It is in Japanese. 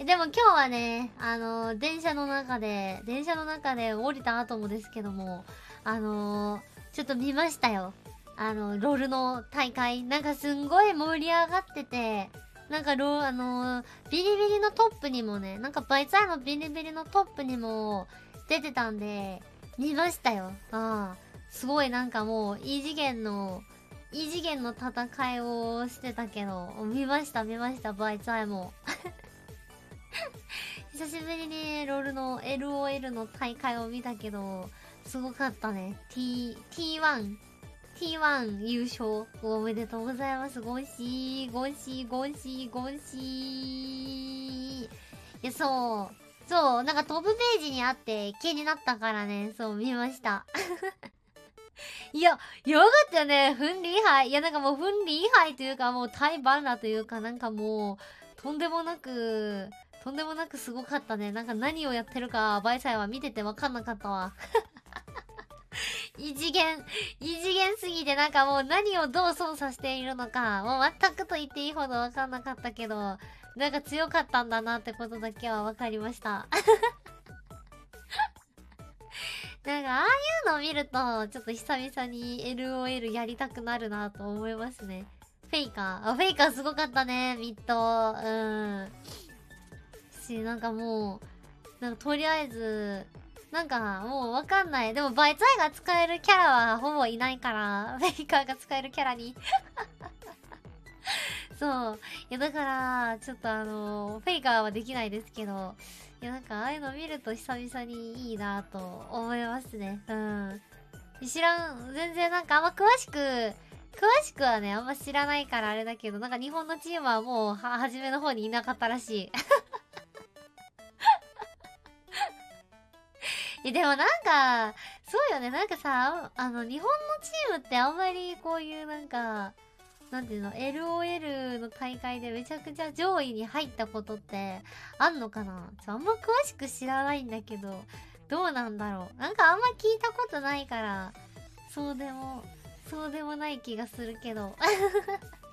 でも今日はね、電車の中で降りた後もですけども、ちょっと見ましたよ。ロールの大会。なんかすんごい盛り上がってて、なんかビリビリのトップにもね、なんかバイツアイのビリビリのトップにも出てたんで、見ましたよ。すごいなんかもう、異次元の戦いをしてたけど、見ました、バイツアイも。久しぶりにロールの LOL の大会を見たけど、すごかったね。T1 優勝おめでとうございます。ゴンシー。いや、そう、なんかトップページにあって気になったからね、そう見ました。いや、よかったよね。フンリーハイ。いや、なんかもうフンリーハイというかもうタイバンラというかなんかもう、とんでもなくすごかったね。なんか何をやってるか、バイサイは見ててわかんなかったわ。異次元すぎてなんかもう何をどう操作しているのか、もう全くと言っていいほどわかんなかったけど、なんか強かったんだなってことだけはわかりました。なんかああいうのを見ると、ちょっと久々に LOL やりたくなるなと思いますね。フェイカーすごかったね、ミッド。なんかもう、なんかとりあえず、なんかもうわかんない。でもバイツアイが使えるキャラはほぼいないから、フェイカーが使えるキャラにそう。いやだから、ちょっとフェイカーはできないですけど、いやなんかああいうの見ると久々にいいなと思いますね。全然なんかあんま詳しくはね、あんま知らないからあれだけど、なんか日本のチームはもう初めの方にいなかったらしい。でもなんか、そうよね、なんかさ、日本のチームってあんまりこういうなんか、なんていうの、LOL の大会でめちゃくちゃ上位に入ったことってあんのかな。あんま詳しく知らないんだけど、どうなんだろう。なんかあんま聞いたことないから、そうでもない気がするけど。